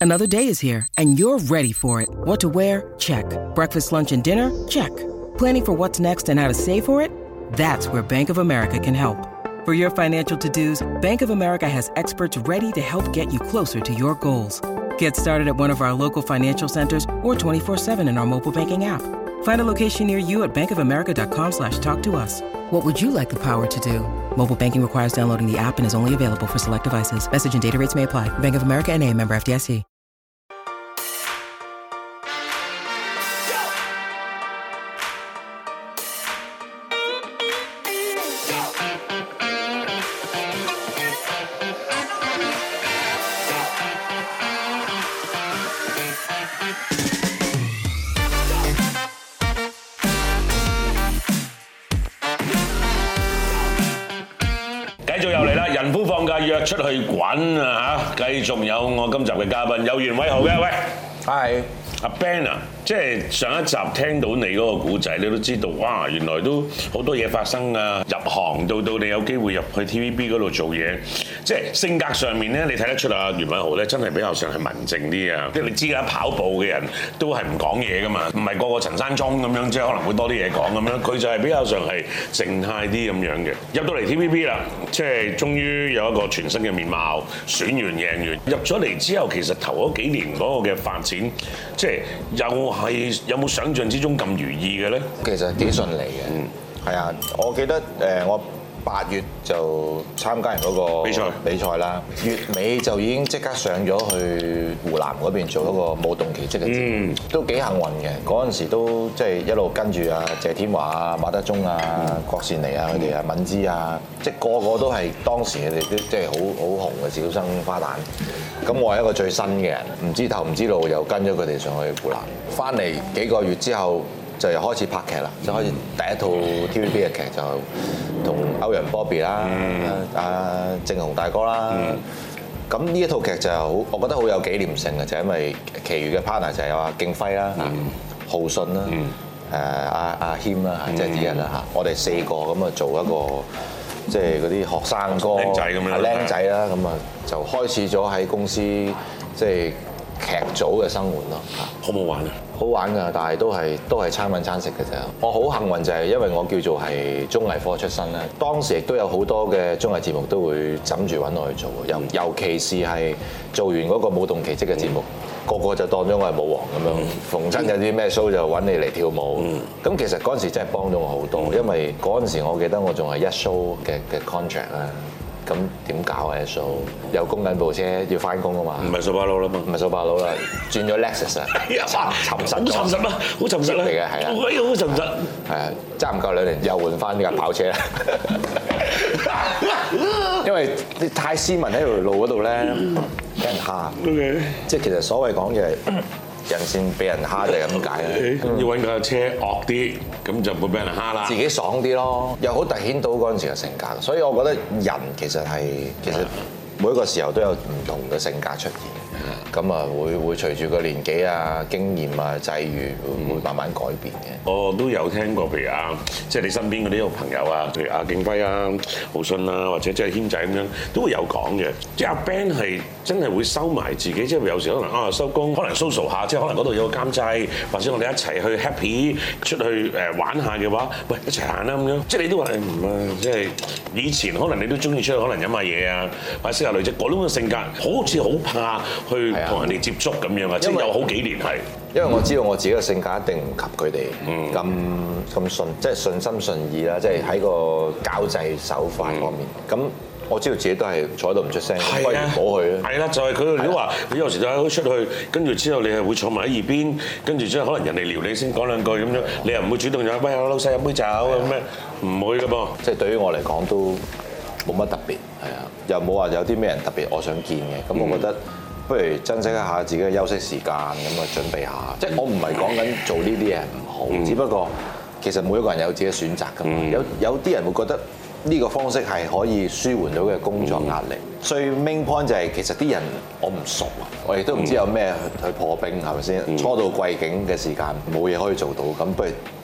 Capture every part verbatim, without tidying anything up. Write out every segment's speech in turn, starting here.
Another day is here, and you're ready for it. What to wear? Check. Breakfast, lunch, and dinner? Check. Planning for what's next and how to save for it? That's where Bank of America can help. For your financial to-dos, Bank of America has experts ready to help get you closer to your goals. Get started at one of our local financial centers or twenty-four seven in our mobile banking app. Find a location near you at bankofamerica.com slash talk to us. What would you like the power to do? Mobile banking requires downloading the app and is only available for select devices. Message and data rates may apply. Bank of America N A, member F D I C. 繼續又嚟啦！人夫放假約出去滾啊嚇！繼續有我今集嘅嘉賓有袁偉豪嘅，喂， 係阿 Ben 啊，即係上一集聽到你嗰個故仔，你都知道哇，原來都好多嘢發生啊！入行到到你有機會入去 T V B 嗰度做嘢，即係性格上面咧，你睇得出啊，袁偉豪咧真係比較上係文靜啲啊！即係你知啦，跑步嘅人都係唔講嘢噶嘛，唔係個個陳山聰咁樣，即係可能會多啲嘢講咁樣，佢就係比較上係靜態啲咁樣嘅。入到嚟 T V B 啦，即係終於有一個全新嘅面貌，選完贏完，入咗嚟之後，其實頭嗰幾年嗰個嘅發展，即係又係有冇想象之中咁如意嘅咧？ 其實幾順利嘅，嗯，係啊，我記得誒我八月就參加完嗰個比賽比賽啦，月尾就已經即刻上咗去湖南嗰邊做一個舞動奇蹟嘅節目，都幾幸運嘅。嗰陣時都即係一路跟住啊謝天華啊、馬德鐘啊、郭羨妮啊佢哋啊、敏芝啊，即係個個都係當時佢哋都即係好好紅嘅小生花旦。咁我係一個最新嘅人，唔知頭唔知路，又跟咗佢哋上去湖南，翻嚟幾個月之後，就又開始拍劇啦，就開始第一套 T V B 嘅劇就同歐陽 Bobby 啦、阿正雄大哥啦。咁呢一套劇就好，我覺得好有紀念性嘅，就係因為其餘嘅 partner 就係有阿敬輝啦、浩信啦、誒阿阿謙啦，即係之一啦嚇。我哋四個咁啊做一個即係嗰啲學生哥、 僆仔咁樣， 僆仔啦，咁啊就開始咗喺公司即係劇組嘅生活咯。 好唔好玩啊？ 好玩㗎，但係都係都係餐揾餐食嘅啫。我好幸運就係因為我叫做係綜藝科出身啦，當時亦都有好多嘅綜藝節目都會枕住揾我去做，尤尤其是係做完嗰個舞動奇蹟嘅節目，個個就當咗我係舞王咁樣，逢親有啲咩 show 就揾你嚟跳舞。咁其實嗰陣時真係幫咗我好多，因為嗰陣時我記得我仲係一 show 嘅嘅 contract 啦。咁點搞啊 show？ 又供緊部車要翻工啊嘛， 唔係掃把佬啦嘛， 唔係掃把佬啦，轉咗 Lexus 啊，沉沉實好沉實啊，好沉實啊， 嚟嘅係啊， 好沉實， 係啊，爭唔夠兩年又換翻呢架跑車啦，因為你太斯文喺條路嗰度咧，俾人蝦。 Okay. 即係其實所謂講嘅人線俾人蝦就係咁解啦。 要揾架車惡啲，咁就唔會俾人蝦啦。 自己爽啲咯，又好突顯到嗰陣時嘅性格，所以我覺得人其實係其實每一個時候都有唔同嘅性格出現。咁啊，會會隨住個年紀啊、經驗啊、際遇，會會慢慢改變嘅。 我都有聽過，譬如啊，即係你身邊嗰啲朋友啊，譬如阿敬輝啊、浩信啊，或者即係軒仔咁樣，都會有講嘅。即係阿 Ben 係真係會收埋自己，即係有時可能啊收工，可能 social 下，即係可能嗰度有個監製，或者我哋一齊去 happy 出去誒玩下嘅話，喂一齊行啦咁樣。即係你都話唔啊，即係以前可能你都中意出去，可能飲下嘢啊，或者識下女仔，嗰種嘅性格好似好怕去同人哋接觸咁樣啊，即係有好幾年係。 因為我知道我自己嘅性格一定唔及佢哋咁咁順，即係順心順意啦，即係喺個交際手法方面。咁、嗯、我知道自己都係坐喺度唔出聲，不如唔好去啦。係啦，就係佢哋都話，你有時就喺出去，跟住之後你係會坐埋喺耳邊，跟住之後可能人哋撩你先講兩句咁樣，你又唔會主動就喂老細飲杯酒咁咩？唔會㗎噃。即係對於我嚟講都冇乜特別，係啊，又冇話有啲咩人特別我想見嘅。咁我覺得。不如珍惜一下自己嘅休息時間，咁啊準備下。即係我唔係講緊做呢啲嘢唔好，嗯、只不過其實每一個人有自己嘅選擇㗎嘛。嗯、有有啲人會覺得呢個方式係可以舒緩到嘅工作壓力。最 main point 就係其實啲人我唔熟啊，我亦都唔知有咩去破冰係咪先？初到貴境嘅時間冇嘢可以做到，咁不如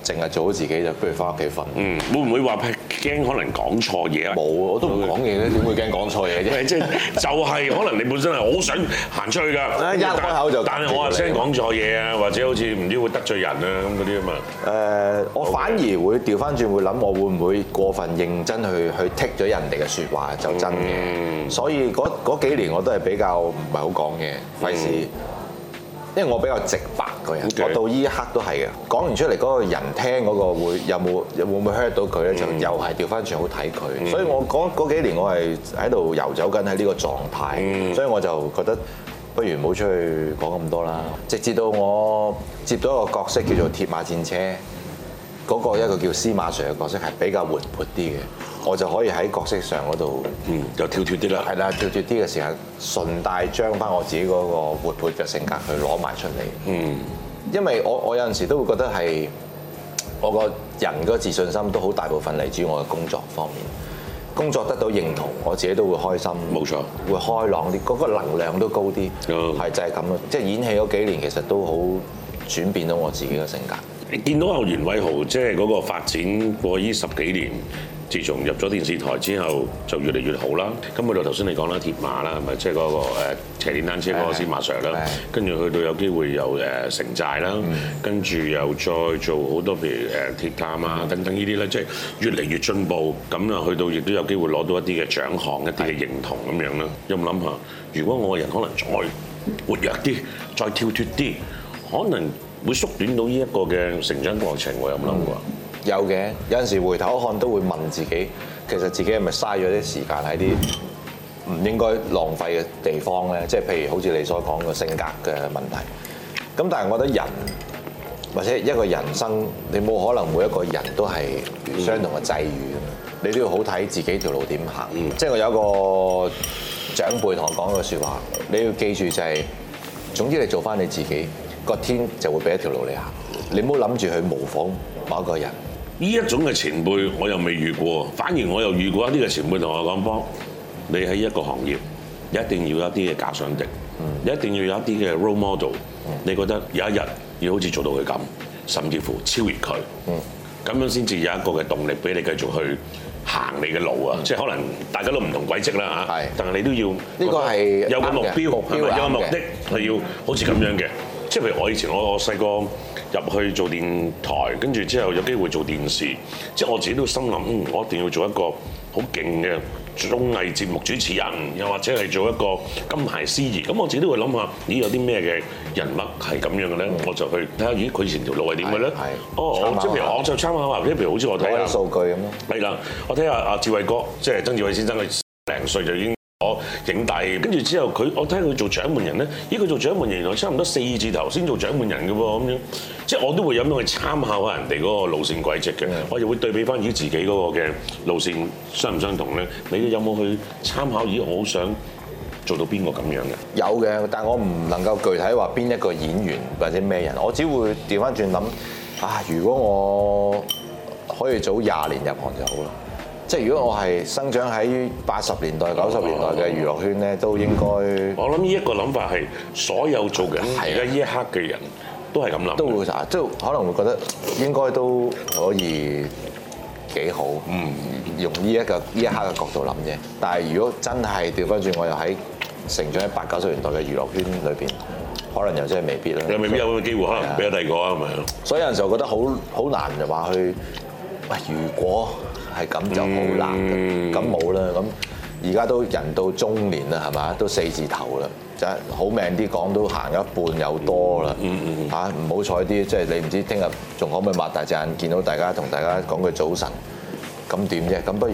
淨係做好自己就不如翻屋企瞓。 嗯，會唔會話驚可能講錯嘢啊？ 冇，我都唔講嘢咧，點會驚講錯嘢啫？ 即係就係可能你本身係好想行出去㗎， 一開口就但係我話聲講錯嘢啊，或者好似唔知會得罪人啊咁嗰啲啊嘛。 誒，我反而會調翻轉會諗，我會唔會過分認真去去剔咗人哋嘅説話就真嘅。嗯、所以嗰嗰幾年我都係比較唔係好講嘢，費事。因為我比較直白個人，Okay. 我到依一刻都係嘅。講完出嚟嗰個人聽嗰個會有冇會唔會 hurt 到佢咧？就又係調翻轉好睇佢。嗯、所以我嗰嗰幾年我係喺度遊走緊喺呢個狀態，嗯、所以我就覺得不如唔好出去講咁多啦。直至到我接到一個角色叫做鐵馬戰車，嗰、嗰個一個叫司馬 Sir 嘅角色係比較活潑啲嘅。我就可以喺角色上嗰度， 嗯，就跳脱啲啦。係啦， 跳脱啲嘅時候，順帶將翻我自己嗰個活潑嘅性格去攞埋出嚟。嗯，因為我我有陣時都會覺得係我個人嗰個自信心都好大部分嚟自於我嘅工作方面。工作得到認同，我自己都會開心。冇錯，會開朗啲，嗰個能量都高啲。嗯，係就係咁咯。即係演戲嗰幾年，其實都好轉變到我自己嘅性格。 你見到阿袁偉豪即係嗰個發展過呢十幾年。自從入咗電視台之後，就越嚟越好啦。咁去到頭先你講啦，鐵馬啦，係咪即係嗰個誒騎電單車嗰個司馬 Sir 啦？跟住去到有機會又誒城寨啦，跟住又再做好多譬如誒鐵探啊等等呢啲咧，即係越嚟越進步。咁啊，去到亦都有機會攞到一啲嘅獎項、一啲嘅認同咁樣啦。有冇諗下，如果我個人可能再活躍啲、再跳脱啲，可能會縮短到呢一個嘅成長過程？我有冇諗過？ 有嘅，有陣時回頭看都會問自己，其實自己係咪嘥咗啲時間喺啲唔應該浪費嘅地方咧？即係譬如好似你所講嘅性格嘅問題。咁但係我覺得人或者一個人生，你冇可能每一個人都係相同嘅際遇，嗯、你都要好睇自己條路點行。嗯、即係我有一個長輩同我講嘅説話，你要記住就係、是，總之你做翻你自己，個天就會俾一條路你行。你唔好諗住去模仿某一個人。 呢一種嘅前輩我又未遇過，反而我又遇過一啲嘅前輩同我講：幫你喺一個行業，一定要有一啲嘅假想敵，嗯、你一定要有一啲嘅 role model、嗯。你覺得有一日要好似做到佢咁，甚至乎超越佢，咁、嗯、樣先至有一個嘅動力俾你繼續去行你嘅路啊！嗯、即係可能大家都唔同軌跡啦嚇，是但係你都要呢個係有個目標， 目標係咪有個目的係要好似咁樣嘅？即係譬如我以前我我細個。入去做電台，跟住之後有機會做電視，即係我自己都心諗，嗯，我一定要做一個好勁嘅綜藝節目主持人，又或者係做一個金牌司儀。咁我自己都會諗下，咦，有啲咩嘅人物係咁樣嘅咧？嗯、我就去睇下，咦，佢以前條路係點嘅咧？哦，即係譬如我就參考下，譬如好似我睇下數據咁咯。 係啦，我睇下阿志偉哥，即係曾志偉先生，佢零歲就已經攞影帝，跟住之後佢，我睇佢做獎門人咧，咦，佢做獎門人原來差唔多四字頭先做獎門人嘅喎，咁樣。即係我都會有咁去參考下人哋嗰個路線軌跡嘅，嗯、我又會對比翻咦自己嗰個嘅路線相唔相同咧？你有冇去參考？咦，我好想做到邊個咁樣嘅？ 有嘅，但係我唔能夠具體話邊一個演員或者咩人，我只會調翻轉諗啊！如果我可以早廿年入行就好啦。即係如果我係生長喺八十年代、九十年代嘅娛樂圈咧，都應該。 我諗呢一個諗法係所有做緊而家呢一刻嘅人。都係咁諗， 都會啊，即係可能會覺得應該都可以幾好。嗯，用呢一個呢一刻嘅角度諗啫。但係如果真係調翻轉，我又喺成長喺八九十年代嘅娛樂圈裏邊，可能又真係未必啦。 又未必有咁嘅機會，可能俾咗第二個啊，係咪？ 所以有陣時候覺得好好難就話去，喂，如果係咁就好難，咁冇啦。咁而家都人到中年啦，係嘛？都四字頭啦。就係好命啲講都行一半有多啦，嚇唔好彩啲，即係你唔知聽日仲可唔可以擘大隻眼見到大家同大家講句早晨，咁點啫？咁不如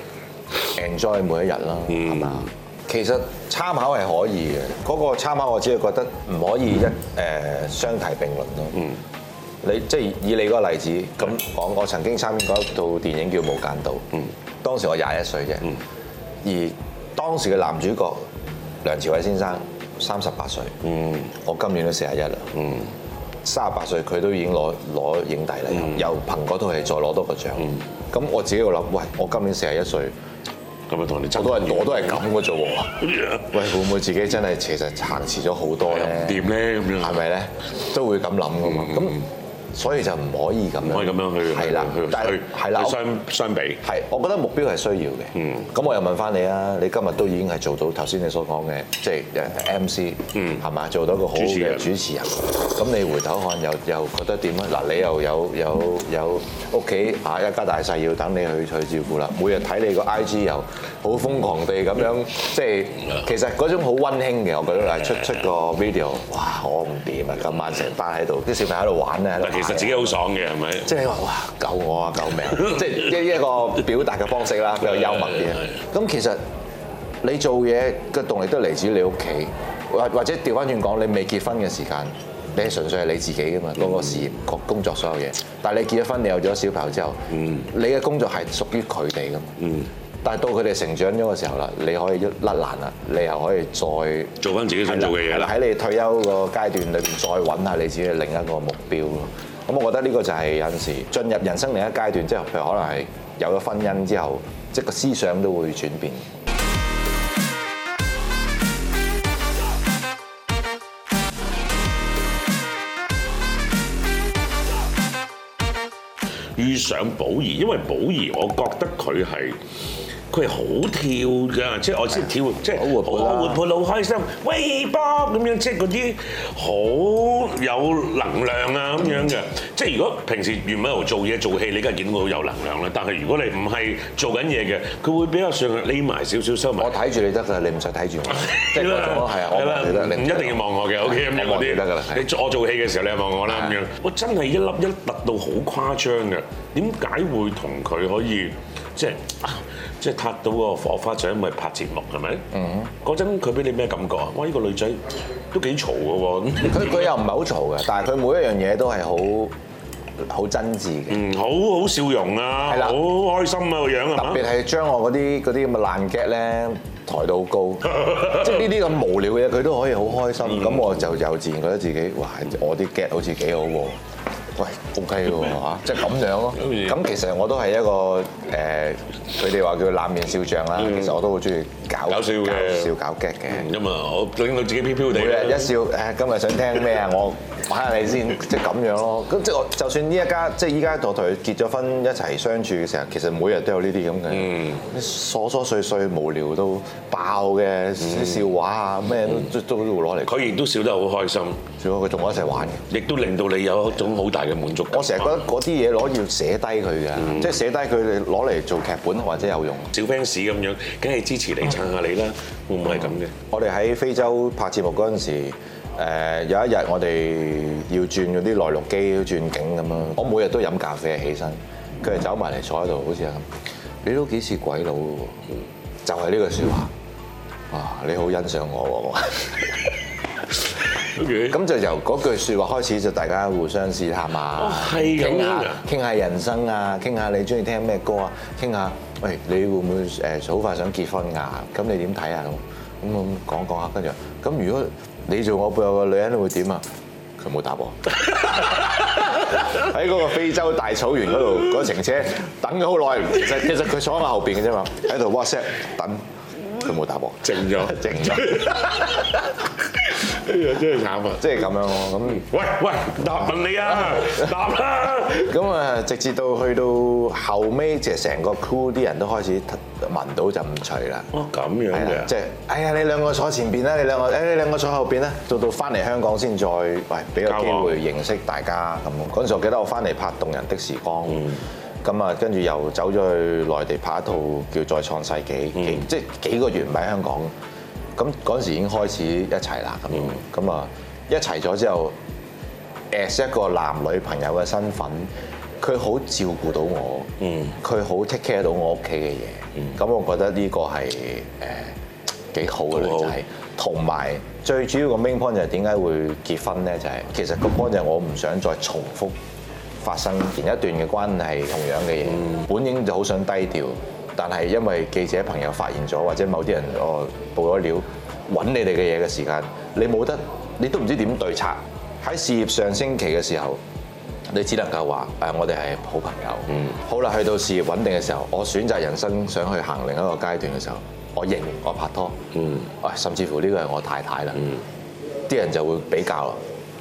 enjoy 每一日啦，係嘛、嗯？其實參考係可以嘅，嗰、嗰個參考我只係覺得唔可以一誒、呃、相提並論咯。嗯、你即係以你嗰個例子咁講，我曾經參與過一套電影叫《無間道》，嗯、當時我廿一歲啫，嗯、而當時嘅男主角梁朝偉先生三十八歲，嗯、我今年都四十一啦，三十八歲佢都已經攞攞影帝啦，嗯、又憑嗰套戲再攞多個獎。咁、嗯、我自己會諗，喂，我今年四十一歲， 咁咪同你爭， 我都係我都係咁嘅啫喎。喂，會唔會自己真係其實行遲咗好多咧？ 掂咧咁樣， 係咪咧？都會咁諗噶嘛。咁、嗯、 所以就唔可以咁樣， 唔可以咁樣去係啦，但係係啦， 相相比係，我覺得目標係需要嘅。嗯，咁我又問翻你啊，你今日都已經係做到頭先你所講嘅，即係誒 M C，嗯，係嘛，做到一個好嘅主持人。咁你回頭看又又覺得點啊？嗱，你又有有有屋企啊一家大細要等你去去照顧啦，每日睇你個 I G 又好瘋狂地咁樣，即係其實嗰種好溫馨嘅，我覺得係出出個 video， 哇！我唔掂啊，今晚成班喺度，啲小朋友喺度玩咧， 其實自己好爽嘅係咪？ 即係話哇救我啊救命！即係一一個表達嘅方式啦，比較幽默啲。咁其實你做嘢嘅動力都嚟自你屋企，或或者調翻轉講，你未結婚嘅時間，你係純粹係你自己㗎嘛，嗰、嗰個事業、個工作所有嘢。但係你結咗婚，你有咗小朋友之後，嗯、你嘅工作係屬於佢哋㗎嘛。嗯、但係到佢哋成長咗嘅時候啦，你可以一甩爛啦，你又可以再做翻自己想做嘅嘢啦。 喺你退休個階段裏邊，再揾下你自己嘅另一個目標咯。咁我覺得呢個就係有陣時進入人生另一階段，即係譬如可能係有咗婚姻之後，即係個思想都會轉變。 遇上寶儀，因為寶儀，我覺得佢係。佢係好跳㗎，即係我先跳，即係好活潑、好開心，喂波咁樣，即係嗰啲好有能量啊咁樣嘅。即係如果平時原本喺度做嘢做戲，你梗係見到佢好有能量啦。但係如果你唔係做緊嘢嘅，佢會比較上匿埋少少收埋。 我睇住你得㗎，你唔使睇住我。即係嗰種係啊，我望你得，你唔一定要望我嘅。O K 咁樣嗰啲得㗎啦。你我做戲嘅時候，你望我啦咁樣。我真係一粒一突到好誇張嘅。點解會同佢可以即係？即係撻到個火花，就因為拍節目係咪？嗯。嗰陣佢俾你咩感覺啊？哇！呢個女仔都幾嘈嘅喎。佢佢又唔係好嘈嘅，但係佢每一樣嘢都係好好真摯嘅。 嗯，好好笑容啊，好開心啊個樣係嘛？ 特別係將我嗰啲嗰啲咁嘅爛 gag 咧抬到好高，即係呢啲咁無聊嘅嘢佢都可以好開心。咁我就又自然覺得自己哇！我啲 gag 好似幾好喎。喂 ，OK 喎嚇，即係咁樣咯。咁其實我都係一個誒，佢哋話叫冷面笑匠啦。其實我都好中意搞搞笑嘅， 笑搞 gag 嘅。 咁啊，我令到自己飄飄地。 每日一笑誒，今日想聽咩啊？我玩下你先，即係咁樣咯。咁即係我，就算呢一家即係依家我同佢結咗婚一齊相處嘅時候，其實每日都有呢啲咁嘅，啲瑣瑣碎碎無聊到爆嘅啲笑話啊，咩都都都會攞嚟。 佢亦都笑得好開心， 笑到佢同我一齊玩嘅， 亦都令到你有一種好大嘅滿足感。 我成日覺得嗰啲嘢攞要寫低佢嘅，嗯、即係寫低佢哋攞嚟做劇本或者有用。 小 fans 咁樣，梗係支持你撐下你啦，會唔會係咁嘅？ 我哋喺非洲拍節目嗰陣時，誒有一日我哋要轉嗰啲內陸機轉景咁樣，我每日都飲咖啡起身，佢哋走埋嚟坐喺度，好似係咁，你都幾似鬼佬嘅喎，就係呢句説話，啊你好欣賞我喎。咁 Okay. 就由嗰句説話開始，就大家互相試探啊，傾下傾下人生啊，傾下你中意聽咩歌啊，傾下喂你會唔會誒好快想結婚㗎？咁你點睇啊？咁咁講講下，跟住咁如果你做我背後嘅女人會點啊？佢冇答我。喺嗰個非洲大草原嗰度，嗰程車等咗好耐，其實其實佢坐喺我後邊嘅啫嘛，喺度 WhatsApp 等，佢冇答我， 靜咗， 靜咗。 哎呀，真係慘啊！ 即係咁樣咯。咁喂喂，答問你啊，答啦！ 咁啊，直至到去到後尾，即係成個 crew 啲人都開始聞到陣臭啦。 哦，咁樣嘅， 即係哎呀，你兩個坐前邊啦，你兩個誒，你兩個坐後邊啦。到到翻嚟香港先再喂俾個機會認識大家咁。嗰陣時我記得我翻嚟拍《動人的時光》，咁啊跟住又走咗去內地拍一套叫《再創世紀》，幾即係幾個月唔喺香港。咁嗰陣時已經開始一齊啦，咁咁啊一齊咗之後 ，as 一個男女朋友嘅身份，佢好照顧到我，佢好 take care 到我屋企嘅嘢，咁、嗯、我覺得呢個係誒幾好嘅女仔，同埋最主要個 main point 就係點解會結婚咧？就係、是、其實個 point 就係我唔想再重複發生前一段嘅關係同樣嘅嘢，嗯、本應就好想低調。但係因為記者朋友發現咗，或者某啲人哦報咗料揾你哋嘅嘢嘅時間，你冇得，你都唔知點對策。喺事業上升期嘅時候，你只能夠話誒，我哋係好朋友。嗯。好啦，去到事業穩定嘅時候，我選擇人生想去行另一個階段嘅時候，我認我拍拖。嗯。啊，甚至乎呢個係我太太啦。嗯。啲人就會比較啦。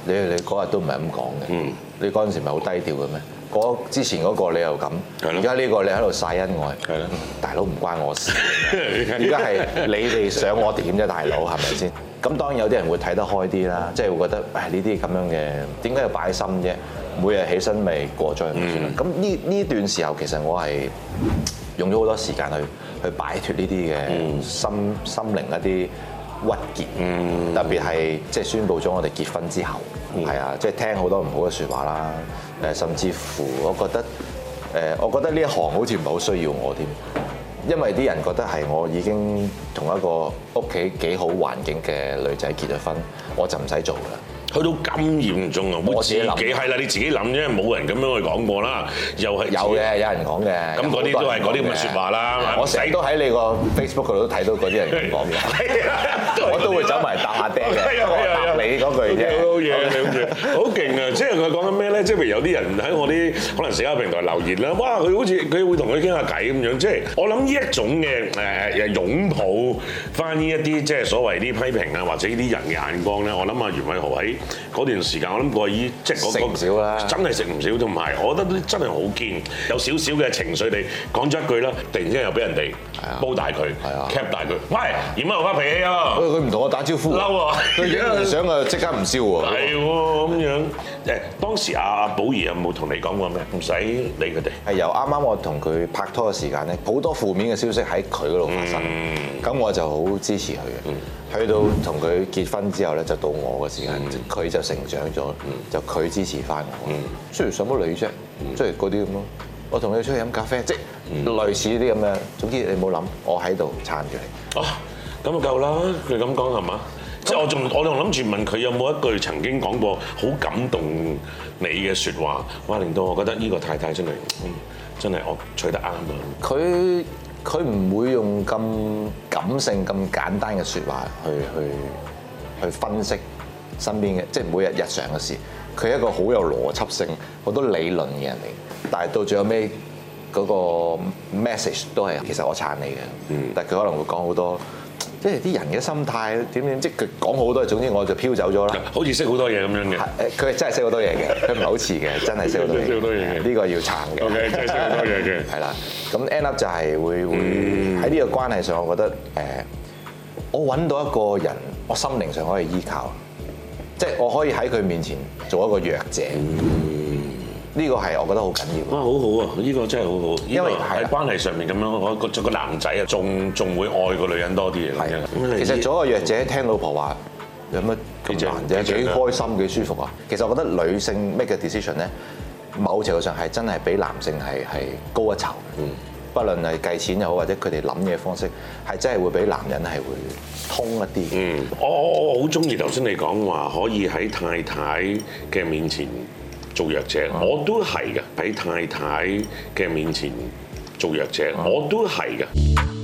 你你嗰日都唔係咁講嘅。嗯。你嗰陣時咪好低調嘅咩？嗰之前嗰個你又咁，而家呢個你喺度曬恩愛，係咯，大佬唔關我事。而家係你哋想我點啫，大佬係咪先？咁當然有啲人會睇得開啲啦，即係會覺得誒呢啲咁樣嘅點解要擺心啫？每日起身咪過咗去咪算啦。咁呢呢段時候其實我係用咗好多時間去去擺脫呢啲嘅心心靈一啲鬱結，嗯、特別係即係宣佈咗我哋結婚之後，係啊、嗯，即係聽好多唔好嘅説話啦。誒，甚至乎我覺得誒，我覺得呢一行好似唔係好需要我添，因為啲人覺得係我已經同一個屋企幾好環境嘅女仔結咗婚，我就唔使做啦。 去到咁嚴重啊！我自己係啦，你自己諗啫，冇人咁樣去講過啦。又係有嘅，有人講嘅。咁嗰啲都係嗰啲咁嘅説話啦。 我成日都喺你個 Facebook 嗰度都睇到嗰啲人咁講嘅。係啊，我都會走埋答下爹嘅。答你嗰句啫。 好嘢，好勁啊！即係佢講緊咩咧？即係譬如有啲人喺我啲可能社交平台留言啦，哇！佢好似佢會同佢傾下偈咁樣。即係我諗呢一種嘅誒誒擁抱翻呢一啲即係所謂啲批評啊，或者呢啲人嘅眼光咧，我諗阿袁偉豪喺嗰段時間，我諗過依即係嗰個食唔少啦， 真係食唔少，同埋我覺得真係好堅，有少少嘅情緒地講咗一句啦，突然之間又俾人哋煲大佢，cap 大佢，喂，點解我發脾氣啊？ 佢唔同我打招呼， 嬲喎， 佢影完相啊即刻唔燒喎， 係喎咁樣。誒，當時阿阿寶儀有冇同你講過咩？唔使理佢哋。係由啱啱我同佢拍拖嘅時間咧，好多負面嘅消息喺佢嗰度發生，咁、嗯、我就好支持佢嘅。嗯、去到同佢結婚之後咧，就到我嘅時間，佢、嗯、就成長咗，嗯、就佢支持翻我。雖然上乜理啫，即係嗰啲咁咯。我同你出去飲咖啡，即係、嗯、類似啲咁嘅。總之你冇諗，我喺度撐住你。 哦，咁就夠啦。佢咁講係嘛？即係我仲我仲諗住問佢有冇一句曾經講過好感動你嘅説話，哇！令到我覺得呢個太太真係，嗯、真係我取得啱啊！ 佢佢唔會用咁感性、咁簡單嘅説話去去去分析身邊嘅，即係每日日常嘅事。佢係一個好有邏輯性、好多理論嘅人嚟，但係到最後尾嗰個 message 都係其實我撐你嘅。嗯、但係佢可能會講好多。即係啲人嘅心態點點，即係佢講好多，總之我就飄走咗啦。 好似識好多嘢咁樣嘅。 係佢係真係識好多嘢嘅，佢唔係好似嘅，真係識好多嘢。識好多嘢嘅，呢個要撐嘅。 OK，真係識好多嘢嘅。 係啦，咁 end up 就係會會喺呢個關係上，我覺得誒，我揾到一個人，我心靈上可以依靠，即係我可以喺佢面前做一個弱者。呢個係我覺得好緊要。 哇，好好啊！呢個真係好好，因為喺關係上面咁樣，我個做個男仔啊，仲仲會愛個女人多啲嘅。係啊， 其實做一個弱者，聽老婆話有乜咁難啫？幾開心幾舒服啊！其實我覺得女性 make 嘅 decision 咧，某程度上係真係比男性係係高一籌。嗯，不論係計錢又好，或者佢哋諗嘢方式，係真係會比男人係會通一啲。 嗯，我我我好中意頭先你講話，可以喺太太嘅面前做弱者，我都係嘅。喺太太嘅面前做弱者，我都係嘅。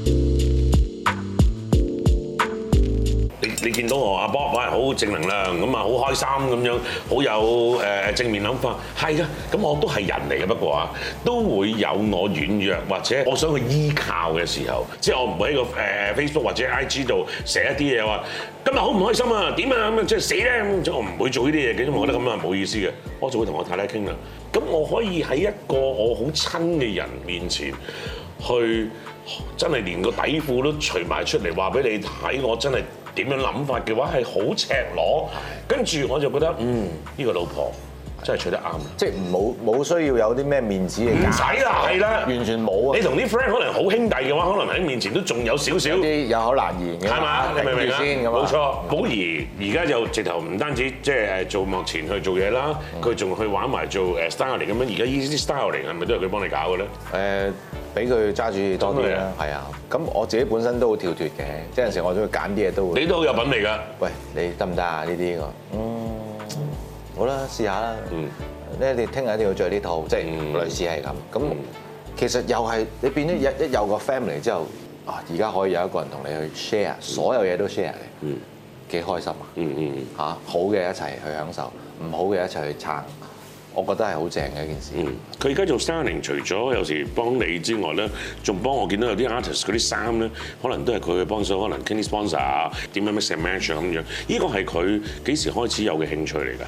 你你見到我阿 Bob 哇，好正能量咁啊，好開心咁樣，好有誒正面諗法，係嘅。咁我都係人嚟嘅，不過啊，都會有我軟弱或者我想去依靠嘅時候，即係我唔會喺個誒 Facebook 或者 I G 度寫一啲嘢話今日好唔開心啊，點啊咁啊，即係死咧咁，即係我唔會做呢啲嘢嘅，因為我覺得咁啊冇意思嘅，我就會同我太太傾啦。咁我可以喺一個我好親嘅人面前去真係連個底褲都除埋出嚟話俾你睇，我真係點樣諗法嘅話係好赤裸，跟住我就覺得嗯呢、呢個老婆真係娶得啱啦， 即係冇冇需要有啲咩面子嘅， 唔使啦，係啦， 完全冇啊！ 你同啲 friend 可能好兄弟嘅話，可能喺面前都仲有少少啲有口難言嘅， 係嘛？你明唔明啊？冇錯，寶儀而家就直頭唔單止即係做幕前去做嘢啦，佢仲、嗯、去玩埋做誒 styling 咁樣。而家呢啲 styling 係咪都係佢幫你搞嘅咧？誒，俾佢揸住多啲啦，係啊。咁我自己本身都好跳脫嘅，即係有陣時我都會揀啲嘢都會。你都好有品味㗎。喂，你得唔得啊？呢啲個嗯好啦，試下啦。嗯。咧，你聽日一定要着呢套，即係類似係咁。咁其實又係你變咗一一有個 family 之後，啊，而家可以有一個人同你去 share，所有嘢都 share 嘅，幾開心啊！嗯嗯嚇，好嘅一齊去享受，唔好嘅一齊去撐，我覺得係好正嘅一件事。 佢而家做 styling，除咗有時幫你之外咧，仲幫我見到有啲 artist 嗰啲衫咧，可能都係佢去幫手，可能傾啲 sponsor 啊，點樣 mix and match 咁樣。呢個係佢幾時開始有嘅興趣嚟㗎？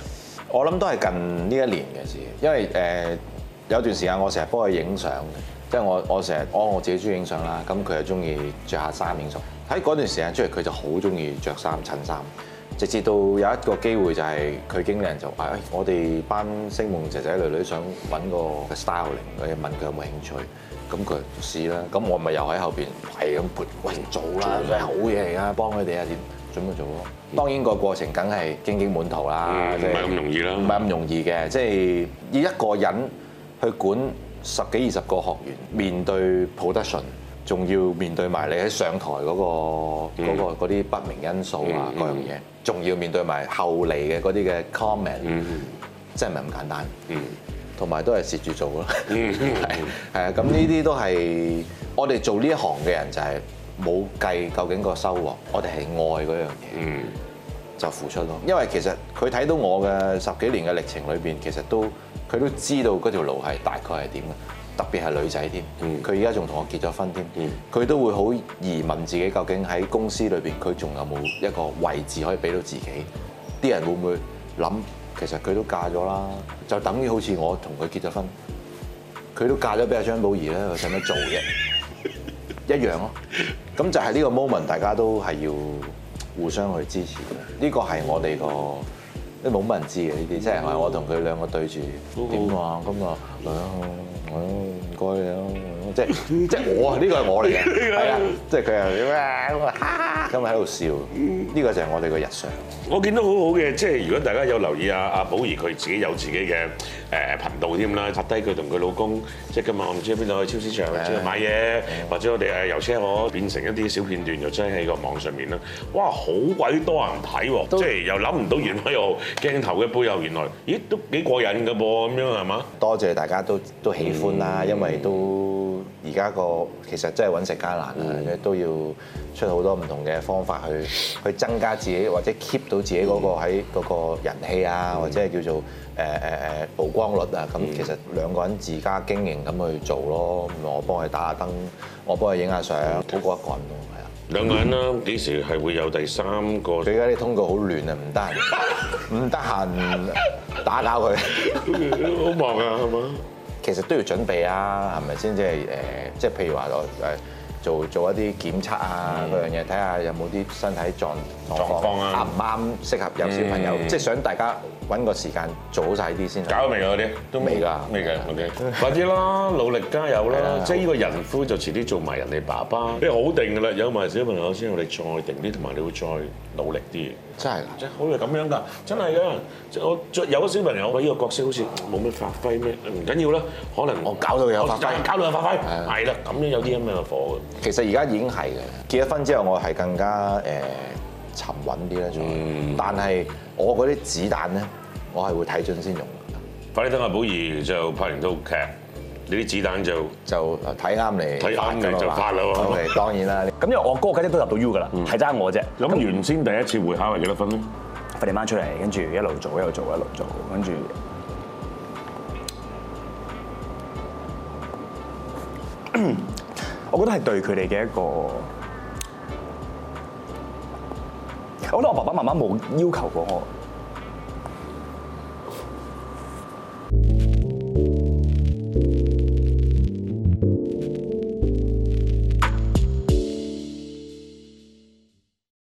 我諗都係近呢一年嘅事，因為誒、呃、有段時間我成日幫佢影相嘅，即係我我成日我我自己中意影相啦，咁佢又中意着下衫影相。喺嗰段時間出嚟，佢就好中意着衫襯衫，直至到有一個機會就係佢經理人就話：誒、哎，我哋班星夢仔仔女女想揾個 styling，我問佢有冇興趣。咁佢試啦，咁我咪又喺後邊係咁撥，喂做啦，真係好嘢嚟㗎，幫佢哋啊點，準備做咯。當然個過程梗係荊棘滿途啦， 唔係咁容易啦， 唔係咁容易嘅，即係要一個人去管十幾二十個學員，面對 production，仲要面對埋你喺上台嗰、嗰個嗰、嗰個啲不明因素啊嗰樣嘢，仲要面對埋後嚟嘅嗰啲嘅 comment，嗯、真係唔係咁簡單。嗯同埋都係蝕住做咯，係係啊，咁呢啲都係我哋做呢一行嘅人就係冇計究竟個收穫，我哋係愛嗰樣嘢，就付出咯。因為其實佢睇到我嘅十幾年嘅歷程裏邊，其實都佢都知道嗰條路係大概係點嘅，特別係女仔添。佢而家仲同我結咗婚添，佢都會好疑問自己究竟喺公司裏邊佢仲有冇一個位置可以俾到自己？啲人會唔會諗？其實佢都嫁咗啦，就等於好似我同佢結咗婚，佢都嫁咗俾阿張寶儀咧，佢使乜做啫？一樣咯。咁就係呢個 moment，大家都係要互相去支持嘅。呢個係我哋個都冇乜人知嘅呢啲，即係我同佢兩個對住點話咁啊，嚟啊，唔該你啊，即係即係我呢個係我嚟嘅，係啊，即係佢又點啊咁啊，咁喺度笑，呢個就係我哋個日常。 我見到好好嘅，即係如果大家有留意阿阿寶儀，佢自己有自己嘅誒頻道添啦，拍低佢同佢老公，即係今日我唔知喺邊度去超市場出去買嘢，或者我哋誒遊車河變成一啲小片段，又擠喺個網上面啦。哇，好鬼多人睇喎，即係又諗唔到原來又鏡頭嘅背後原來，咦都幾過癮㗎噃，咁樣係嘛？ 多謝大家都都喜歡啦，因為都而家個其實真係揾食艱難啊，都要出好多唔同嘅方法去去增加自己或者 keep 到自己嗰個喺嗰個人氣啊，或者係叫做誒誒誒曝光率啊。咁其實兩個人自家經營咁去做咯，我幫佢打下燈，我幫佢影下相，好過一個人咯，係啊。 兩個人啦，幾時係會有第三個？ 佢而家啲通告好亂啊，唔得閒，唔得閒打攪佢， 好忙啊，係嘛？ 其實都要準備啊，係咪先？即係誒，即係譬如話我誒做做一啲檢測啊嗰樣嘢，睇下有冇啲身體狀狀況啊，啱唔啱適合有小朋友？即係想大家揾個時間做好晒呢啲先。 搞未嗰啲都未㗎， 未㗎，OK。快啲啦，努力加油啦！即係呢個人夫就遲啲做埋人哋爸爸，你好定㗎啦，有埋小朋友先，我哋再定啲，同埋你會再努力啲。 真係㗎， 即係好係咁樣㗎，真係㗎。即係我有咗小朋友，我呢個角色好似冇咩發揮咩？唔緊要啦，可能我搞到有發揮， 搞到有發揮，係啦，咁樣有啲咁樣嘅火嘅。 其實而家已經係嘅，結咗婚之後我係更加誒沉穩啲咧，仲。但係我嗰啲子彈咧，我係會睇準先用。 快啲等阿寶儀就拍完套劇。你啲子彈就就睇啱嚟， 睇啱嚟就發啦喎。 OK，當然啦。 咁因為我哥家姐都入到 U 噶啦，係爭我啫。 咁原先第一次會考係幾多分咧？ 佢哋掹出嚟，跟住一路做一路做一路做，跟住我覺得係對佢哋嘅一個，我覺得我爸爸媽媽冇要求過我